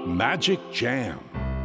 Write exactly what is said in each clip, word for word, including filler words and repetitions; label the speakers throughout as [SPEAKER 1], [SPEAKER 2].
[SPEAKER 1] Magic Jam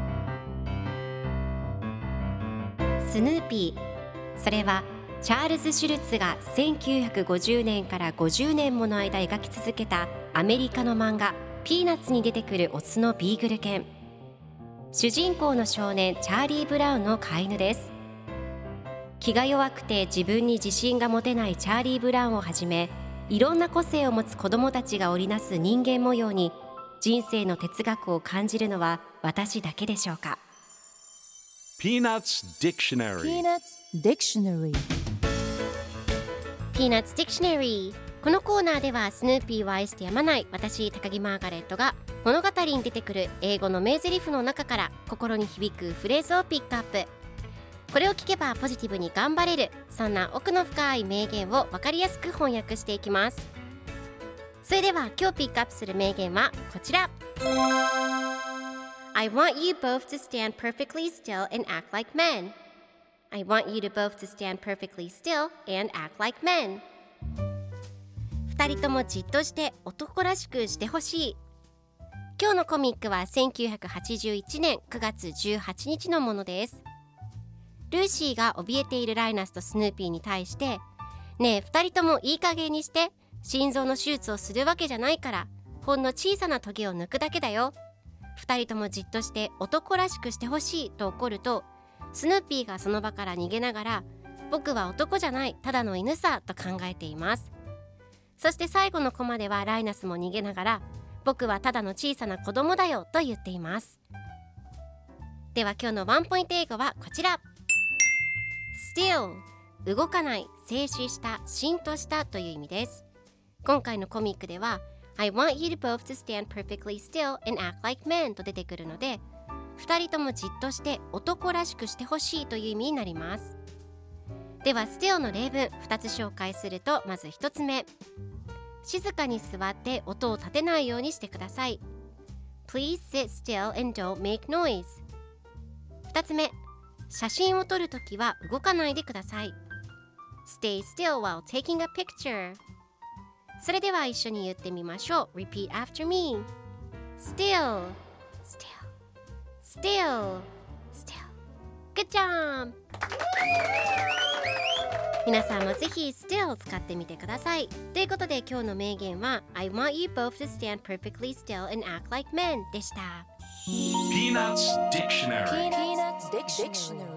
[SPEAKER 2] スヌーピー、それはチャールズ・シュルツがせんきゅうひゃくごじゅうねんからごじゅうねんもの間描き続けたアメリカの漫画ピーナッツに出てくるオスのビーグル犬。主人公の少年チャーリー・ブラウンの飼い犬です。気が弱くて自分に自信が持てないチャーリー・ブラウンをはじめ、いろんな個性を持つ子どもたちが織りなす人間模様に人生の哲学を感じるのは私だけでしょうか。
[SPEAKER 1] Peanuts Dictionary
[SPEAKER 3] Peanuts Dictionary
[SPEAKER 2] Peanuts Dictionary。 このコーナーではスヌーピーを愛してやまない私高木マーガレットが物語に出てくる英語の名台詞の中から心に響くフレーズをピックアップ。これを聞けばポジティブに頑張れる、そんな奥の深い名言を分かりやすく翻訳していきます。それでは今日ピックアップする名言はこちら。 I want you both to stand perfectly still and act like men. I want you to both to stand perfectly still and act like men. 二人ともじっとして男らしくしてほしい。今日のコミックはせんきゅうひゃくはちじゅういちねんくがつじゅうはちにちのものです。ルーシーが怯えているライナスとスヌーピーに対して、ねえ二人ともいい加減にして、心臓の手術をするわけじゃないからほんの小さなトゲを抜くだけだよ。二人ともじっとして男らしくしてほしいと怒ると、スヌーピーがその場から逃げながら、僕は男じゃないただの犬さと考えています。そして最後のコマではライナスも逃げながら、僕はただの小さな子供だよと言っています。では今日のワンポイント英語はこちら。 Still、 動かない、静止した、しんとしたという意味です。今回のコミックでは I want you to both to stand perfectly still and act like men と出てくるので、二人ともじっとして男らしくしてほしいという意味になります。では Still の例文ふたつ紹介すると、まずひとつめ、静かに座って音を立てないようにしてください。 Please sit still and don't make noise。 ふたつめ、写真を撮るときは動かないでください。 Stay still while taking a picture。 それでは一緒に言ってみましょう。 Repeat after me。 Still Still Still Still。 Good job。 皆さんもぜひ Still 使ってみてください。ということで今日の名言は I want you both to stand perfectly still and act like men でした。
[SPEAKER 1] Peanuts Dictionary
[SPEAKER 3] Peanuts Dictionary